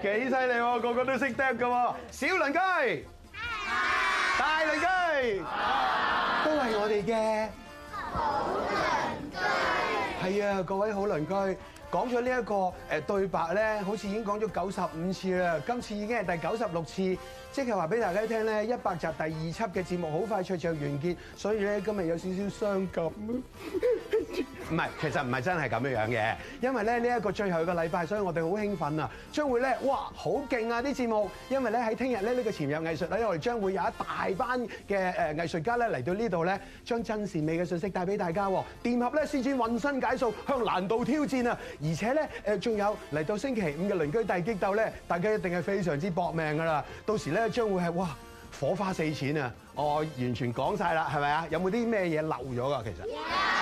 幾犀利喎，個個都識釘㗎喎。小鄰居，大鄰居，都係我哋嘅好鄰居。係啊，各位好鄰居。講咗呢一個對白咧，好似已經講咗95次啦，今次已經係第96次，即係話俾大家聽咧，100集第2輯嘅節目好快脆就完結，所以咧今日有少少傷感。唔係，其實唔係真係咁樣樣嘅，因為咧呢一個最後嘅禮拜，所以我哋好興奮啊！將會咧，哇，好勁啊啲節目，因為咧喺聽日咧呢個潛入藝術咧，我哋將會有一大班嘅藝術家咧嚟到呢度咧，將真善美嘅信息帶俾大家喎。電俠咧施展渾身解數，向難度挑戰啊！而且咧仲有嚟到星期5嘅鄰居大激鬥咧，大家一定係非常之搏命㗎啦！到時咧將會係哇火花四濺啊！我完全講晒啦，係咪啊？有冇啲咩嘢漏咗㗎？其實？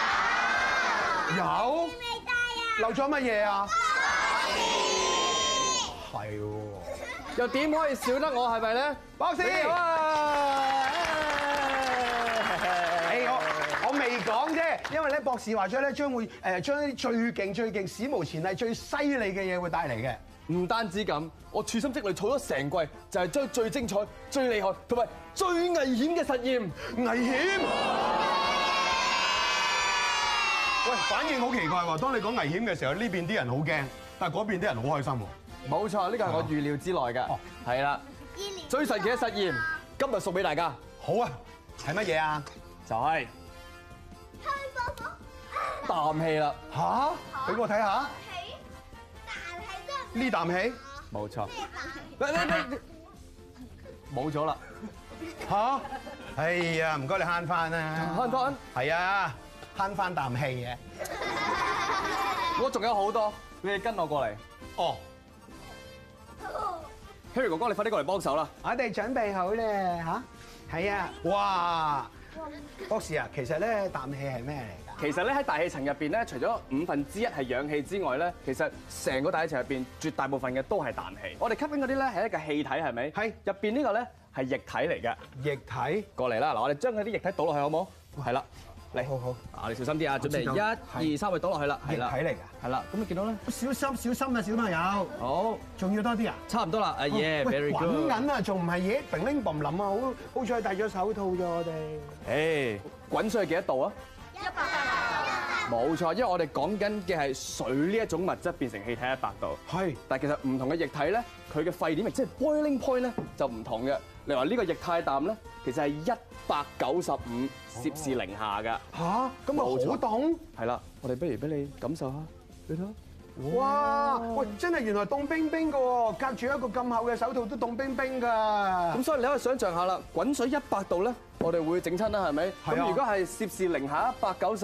有漏咗乜嘢啊？係喎， 又點可以少得我係咪咧？ 博士，我未講啫，因為咧博士話咗咧將會將啲最勁、史無前例、最犀利嘅嘢會帶嚟嘅。 唔單止咁，我處心積慮儲咗成季，就係將最精彩、最厲害同埋最危險嘅實驗。 危險？喂，反應好奇怪喎！當你講危險嘅時候，呢邊啲人好驚，但係嗰邊啲人好開心喎。 冇錯，呢個係我預料之內嘅。 哦， 係啦，最神奇嘅實驗，今日送俾大家。 好啊，係乜嘢啊？ 就係啖氣啦。 吓？俾我睇下。呢啖氣？ 冇錯。冇咗啦。 吓？哎呀，唔該你慳翻啦。 慳翻？ 係啊。慳翻啖氣嘅， 我仲有好多，你哋跟我過嚟。 哦 ，Harry 哥哥，你快啲過嚟幫手啦！ 我哋準備好咧嚇，係啊，哇！博士啊，其實咧啖氣係咩嚟㗎？ 其實咧喺大氣層入邊咧，除咗1/5係氧氣之外咧，其實成個大氣層入邊絕大部分嘅都係氮氣。我哋吸緊嗰啲咧係一個氣體，係咪？係。入邊呢個咧係液體嚟嘅。液體？過嚟啦！嗱，我哋將嗰啲液體倒落去好冇？係啦。嚟，好好，啊，你小心啲啊！準備1、2、3，去倒落去啦，係啦， 液體嚟㗎， 係啦，咁你見到咧？ 小心啊，小朋友！好，仲要多啲啊？差唔多啦， 耶 ，very good。 滾緊啊，仲唔係嘢？乒鈴乓啷啊，好彩戴咗手套咋我哋。 誒，滾水係幾多度啊？100度。冇錯，因為我哋講緊嘅係水呢一種物質變成氣體100度。係。但係其實唔同嘅液體咧，佢嘅沸點即係 boiling point 咧就唔同嘅。例如話呢個液態氮咧，其實係195攝氏零下㗎。嚇，咁咪好凍？係啦，我哋不如俾你感受下，你睇下。 哇！喂，真係原來凍冰冰㗎喎，隔住一個咁厚嘅手套都凍冰冰㗎。 咁所以你可以想象下啦，滾水100度咧，我哋會整親啦，係咪？咁如果係攝氏零下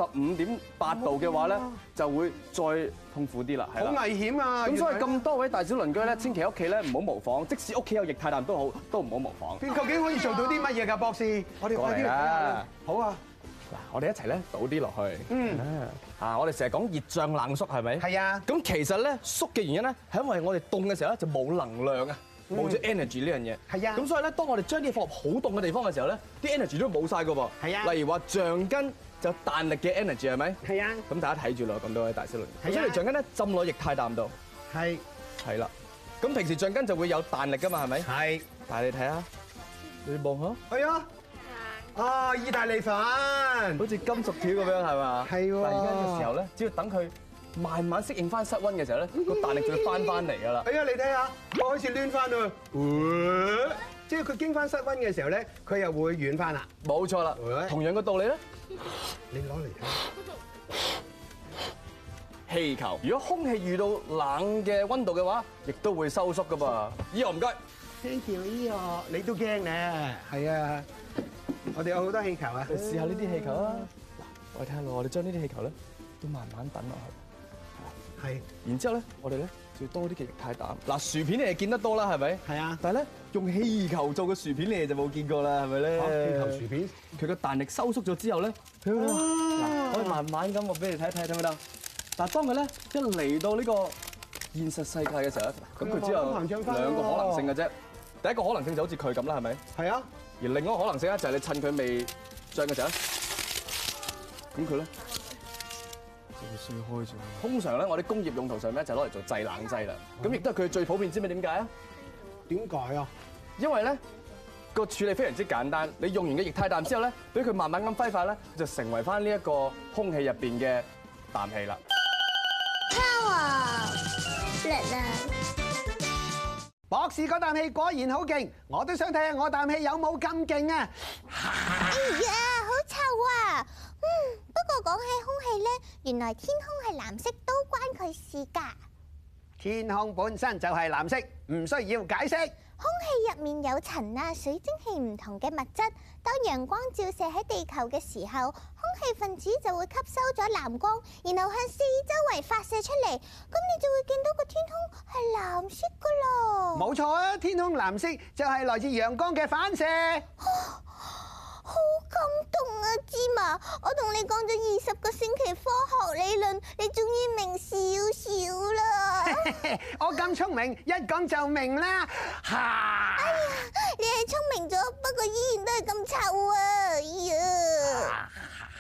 195.8度嘅話咧，就會再痛苦啲啦。好危險啊！ 咁所以咁多位大小鄰居咧，千祈屋企咧唔好模仿，即使屋企有液態氮都好，都唔好模仿。 究竟可以做到啲乜嘢㗎，博士？我哋快啲嚟睇下。好啊！ 嗱，我哋一齊咧倒啲落去。我哋成日講熱脹冷縮，係咪？係啊。咁其實咧縮嘅原因咧，係因為我哋凍嘅時候咧就冇能量啊，冇咗 energy 呢樣嘢。係啊。咁所以咧，當我哋將啲嘢放入好凍嘅地方嘅時候咧，啲 energy 都冇晒㗎噃。係啊。例如話橡筋就彈力嘅 energy 係咪？係啊。咁大家睇住咯，咁多位大小鄰居。將條橡筋咧浸落液態氮度。係。係啦。咁平時橡筋就會有彈力㗎嘛，係咪？係。但係你睇下，你望下。係啊。啊！意大利粉，好似金屬條咁樣係嘛？係喎。但係而家嘅時候咧，只要等佢慢慢適應翻室溫嘅時候咧，個彈力就會翻嚟㗎啦。係啊，你睇下，我開始攣翻啦。即係佢經翻室溫嘅時候咧，佢又會軟翻啦。冇錯啦。同樣嘅道理咧，你攞嚟睇。氣球，如果空氣遇到冷嘅溫度嘅話，亦都會收縮㗎噃。依我唔該。Thank you，依我你都驚咧。係啊。我哋有好多氣球啊！你試下呢啲氣球啊！嗱，我哋睇下咯，我哋將呢啲氣球咧都慢慢等落去。係。然之後咧，我哋咧就要多啲嘅液態氮。嗱，薯片你係見得多啦，係咪？係啊。但係咧，用氣球做嘅薯片你哋就冇見過啦，係咪咧？氣球薯片，佢個彈力收縮咗之後咧，嗱，可以慢慢咁我俾你睇睇，睇唔睇到？但係當佢咧一嚟到呢個現實世界嘅時候咧，咁佢只有2個可能性嘅啫。第一個可能性就好似佢咁啦，係咪？係啊。而另一個可能性咧，就係你趁佢未漲嘅時候咧，咁佢咧就會水開咗。通常咧，我哋工業用途上咧就攞嚟做製冷劑啦。咁亦都係佢最普遍，知唔知點解啊？ 點解啊？ 因為咧個處理非常之簡單，你用完嘅液態氮之後咧，俾佢慢慢咁揮發咧，就成為翻呢一個空氣入邊嘅氮氣啦。 Power， 叻啦！ 博士嗰啖氣果然好勁，我都想睇下我啖氣有冇咁勁啊！ 哎呀，好臭啊！不過講起空氣咧，原來天空係藍色都關佢事㗎。 天空本身就係藍色，唔需要解釋。 空氣入面有塵啊、水蒸氣唔同嘅物質，當陽光照射喺地球嘅時候，空氣分子就會吸收咗藍光，然後向四周圍發射出嚟，咁你就會見到個天空係藍色噶咯。 冇錯啊，天空藍色就係來自陽光嘅反射。 好感動啊，芝麻！我同你講咗20個星期科學理論，你終於明少少啦。 我咁聰明，一講就明啦。 哎呀，你係聰明咗，不過依然都係咁臭啊！哎呀，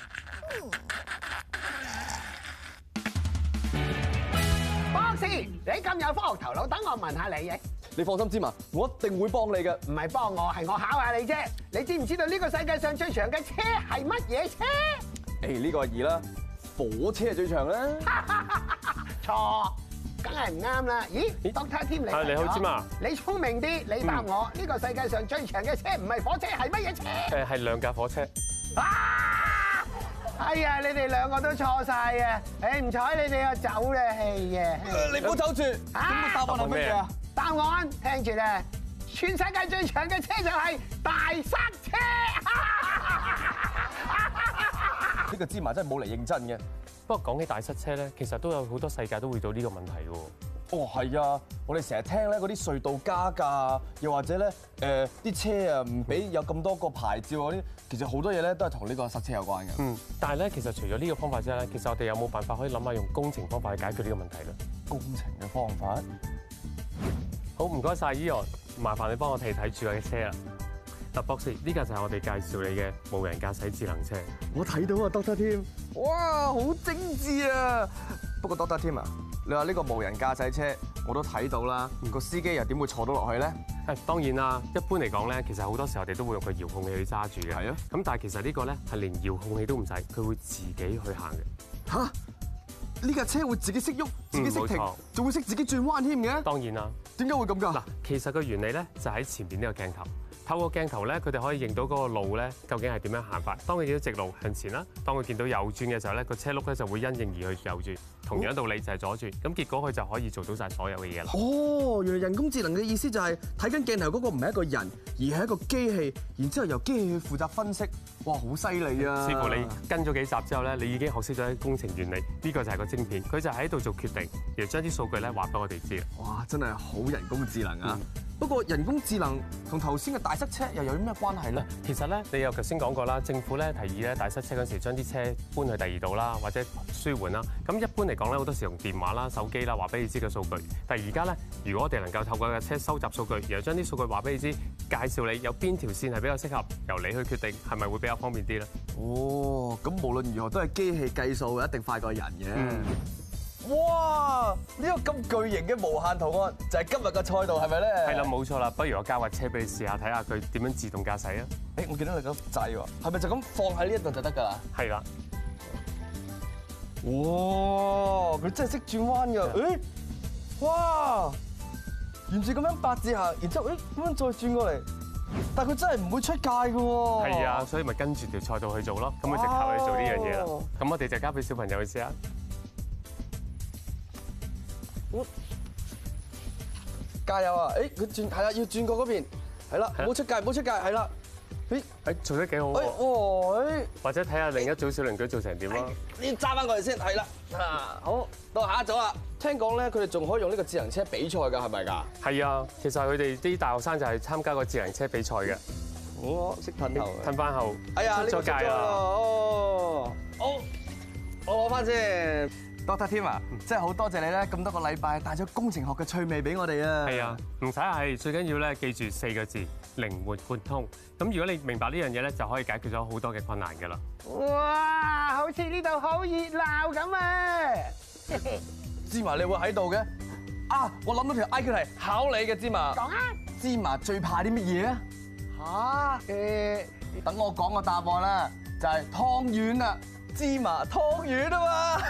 博士，你咁有科學頭腦，等我問下你嘅。 你放心，芝麻，我一定會幫你嘅。 唔係幫我，係我考下你啫。你知唔知道呢個世界上最長嘅車係乜嘢車？ 呢個係2啦，火車係最長啦。 錯，梗係唔啱啦。咦 ，Doctor Tim 你你好，芝麻。 你聰明啲，你答我。呢個世界上最長嘅車唔係火車，係乜嘢車？ 係2架火車。 哎呀，你哋兩個都錯晒啊！唔睬你哋就走啦，係啊。 你唔好走住。咁個答案係乜嘢啊？ 答案聽住啦，全世界最長嘅車就係大塞車。 呢個芝麻真係冇嚟認真嘅。 不過講起大塞車咧，其實都有好多世界都會遇到呢個問題嘅喎。 係啊，我哋成日聽咧嗰啲隧道加價，又或者咧啲車啊唔俾有咁多個牌照嗰啲，其實好多嘢咧都係同呢個塞車有關嘅。 但係咧，其實除咗呢個方法之外咧，其實我哋有冇辦法可以諗下用工程方法去解決呢個問題咧？ 工程嘅方法？ 好，唔該晒，Eon，麻煩你幫我睇住我嘅車啦。嗱，博士，呢架就係我哋介紹你嘅無人駕駛智能車。 我睇到啊 ，Doctor Tim，哇，好精緻啊！不過 Doctor Tim 啊，你話呢個無人駕駛車我都睇到啦，個司機又點會坐到落去咧？ 當然啦，一般嚟講咧，其實好多時候我哋都會用個遙控器去揸住嘅。 係啊。 咁但係其實呢個咧係連遙控器都唔使，佢會自己去行嘅。 嚇！呢架車會自己識喐，自己識停，仲會識自己轉彎添嘅。 當然啦。 點解會咁㗎？ 嗱，其實個原理咧就喺前邊呢個鏡頭。透過鏡頭咧，佢哋可以認到嗰個路咧，究竟係點樣行法。當佢見到直路向前啦，當佢見到右轉嘅時候咧，個車轆咧就會因應而去右轉。同樣道理就係左轉，咁結果佢就可以做到晒所有嘅嘢啦。 哦，原來人工智能嘅意思就係睇緊鏡頭嗰個唔係一個人，而係一個機器，然之後由機器去負責分析。哇，好犀利啊！ 似乎你跟咗幾集之後咧，你已經學識咗啲工程原理。呢個就係個晶片，佢就喺度做決定，然後將啲數據咧話俾我哋知。 哇，真係好人工智能啊！不過人工智能同頭先嘅大塞車又有啲咩關係咧？ 其實咧，你又頭先講過啦，政府咧提議咧大塞車嗰時將啲車搬去第二度啦，或者舒緩啦。咁一般嚟講咧，好多時用電話啦、手機啦話俾你知嘅數據。但係而家咧，如果我哋能夠透過架車收集數據，然後將啲數據話俾你知，介紹你有邊條線係比較適合，由你去決定係咪會比較方便啲咧？ 哦，咁無論如何都係機器計數，一定快過人嘅。哇！呢個咁巨型嘅無限圖案就係今日嘅賽道係咪咧？ 係啦，冇錯啦。不如我交架車俾你試下，睇下佢點樣自動駕駛啊！ 我見到你個掣喎，係咪就咁放喺呢一度就得㗎啦？ 係啦。 哇！佢真係識轉彎㗎。哇！沿住咁樣八字行，然之後咁樣再轉過嚟，但係佢真係唔會出界㗎喎。 係啊，所以咪跟住條賽道去做咯。咁佢直頭去做呢樣嘢啦。咁我哋就交俾小朋友去試下。 加油啊！佢轉係啦，要轉過嗰邊，係啦，唔好出界，唔好出界，係啦。 做得幾好喎！或者睇下另一組小鄰居做成點咯。 你揸翻過嚟先，係啦。好，到下一組啦。聽講咧，佢哋仲可以用呢個智能車比賽㗎，係咪㗎？ 係啊，其實佢哋啲大學生就係參加個智能車比賽嘅。 我識褪後， 褪翻後， 哎呀， 出咗界啦。 哦，好，我攞翻先。 Doctor Tim 啊，真係好多謝你咧，咁多個禮拜帶咗工程學嘅趣味俾我哋啊！ 係啊，唔使客氣，最緊要咧記住4個字：靈活貫通。咁如果你明白呢樣嘢咧，就可以解決咗好多嘅困難㗎啦。 哇！好似呢度好熱鬧咁啊！ 芝麻，你會喺度嘅？啊，我諗到條 IQ 題考你嘅，芝麻。 講啊！ 芝麻最怕啲乜嘢啊？等我講個答案啦，就係湯圓啊！芝麻湯圓啊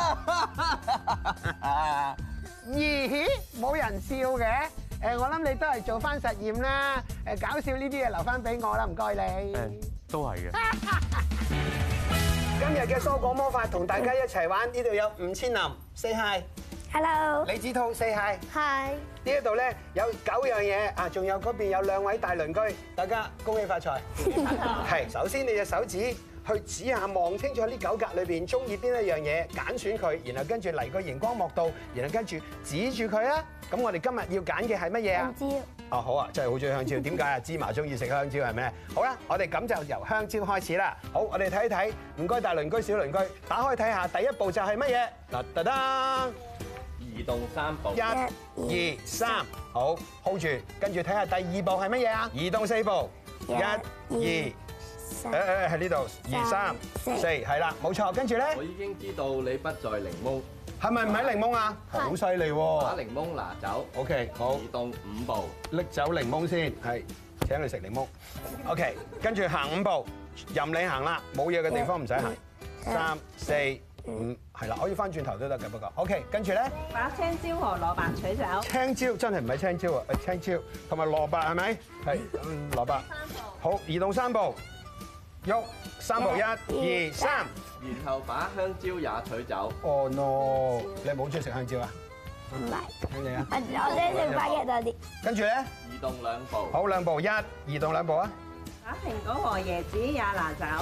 嘛！ 咦？冇人笑嘅？我諗你都係做翻實驗啦。搞笑呢啲嘢留翻俾我啦，唔該你。 都係嘅。 今日嘅蔬果魔法同大家一齊玩，呢度有吳千林 ，say hi。Hello。李子韜 say hi。Hi。呢一度咧有9樣嘢啊，仲有嗰邊有2位大鄰居，大家恭喜發財。係，首先你隻手指去指下望清楚呢9格裏邊中意邊一樣嘢，揀選佢，然後跟住嚟個熒光幕度，然後跟住指住佢啊。咁我哋今日要揀嘅係乜嘢啊？香蕉。哦，好啊，真係好中意香蕉。點解啊？芝麻中意食香蕉係咩？好啦，我哋咁就由香蕉開始啦。好，我哋睇一睇，唔該大鄰居、小鄰居，打開睇下，第一步就係乜嘢？噔噔噔， 移動3步。 1、2、3，好 hold 住，跟住睇下第2步係乜嘢啊？移動4步。1、2。喺呢度，2、3、4，係啦，冇錯。跟住咧， 我已經知道你不在檸檬， 係咪唔係檸檬啊？好犀利喎！ 把檸檬拿走。 OK，好。 移動5步， 拎走檸檬先，係請你食檸檬。OK，跟住行5步，任你行啦，冇嘢嘅地方唔使行。3、4、5，係啦，可以翻轉頭都得嘅，不過 OK，跟住咧， 把青椒和蘿蔔取走。 青椒真係唔係青椒啊，係青椒同埋蘿蔔係咪？係蘿蔔。好，移動3步。喐3步，1、2、3， 然後把香蕉也取走。 Oh no！你係咪好中意食香蕉啊？ 唔係， 聽你啊！ 我中意食番茄多啲。 跟住咧， 移動2步。 好2步，1，移動2步啊！ 把蘋果和椰子也拿走。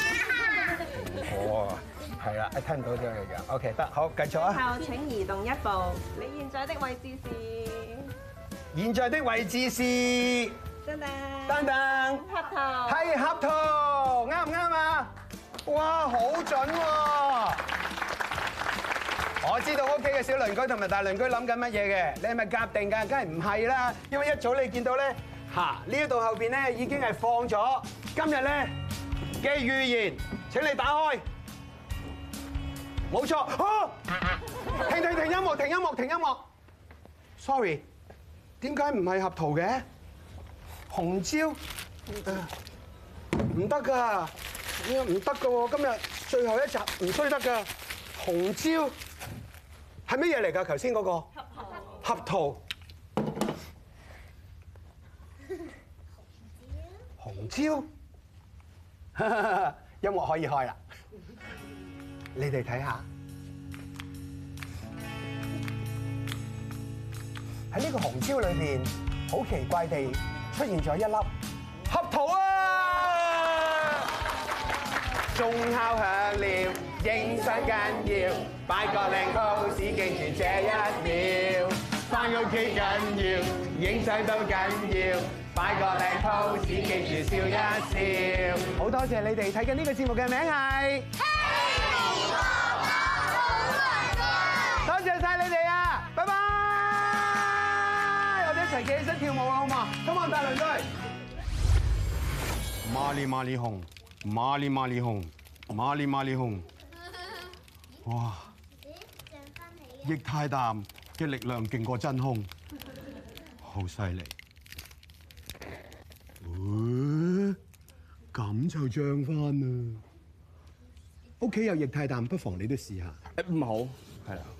哦，係啦，聽唔到咗嘅樣。OK， 得，好，繼續啊！ 後請移動1步，你現在的位置是？ 現在的位置是。 噔噔。 噔噔。 核桃。 係合桃，啱唔啱啊？哇，好準喎！我知道屋企嘅小鄰居同埋大鄰居諗緊乜嘢嘅，你係咪夾定㗎？梗係唔係啦，因為一早你見到咧，呢一度後邊咧已經係放咗今日咧嘅預言，請你打開。冇錯，停音樂，停音樂，停音樂。Sorry， 點解唔係合桃嘅？紅椒。唔得㗎，唔得㗎喎！今日最後一集唔衰得㗎。紅椒係乜嘢嚟㗎？頭先嗰個合桃。紅椒。音樂可以開啦。你哋睇下，喺呢個紅椒裏邊，好奇怪地出現咗一粒合桃啊！鐘敲響了，影相緊要，擺個靚 pose，記住這1秒。返屋企緊要，影相都緊要，擺個靚 pose，記住笑一笑。好多謝你哋睇緊呢個節目嘅名係。多謝晒你哋啊！拜拜。我哋一齊企起身跳舞啦，好嘛？Come on，大鄰居。馬里馬里紅，馬里馬里紅，馬里馬里紅。哇！液態氮嘅力量勁過真空，好犀利。咁就漲翻啦！屋企有液態氮，不妨你都試下。 唔好，係啦。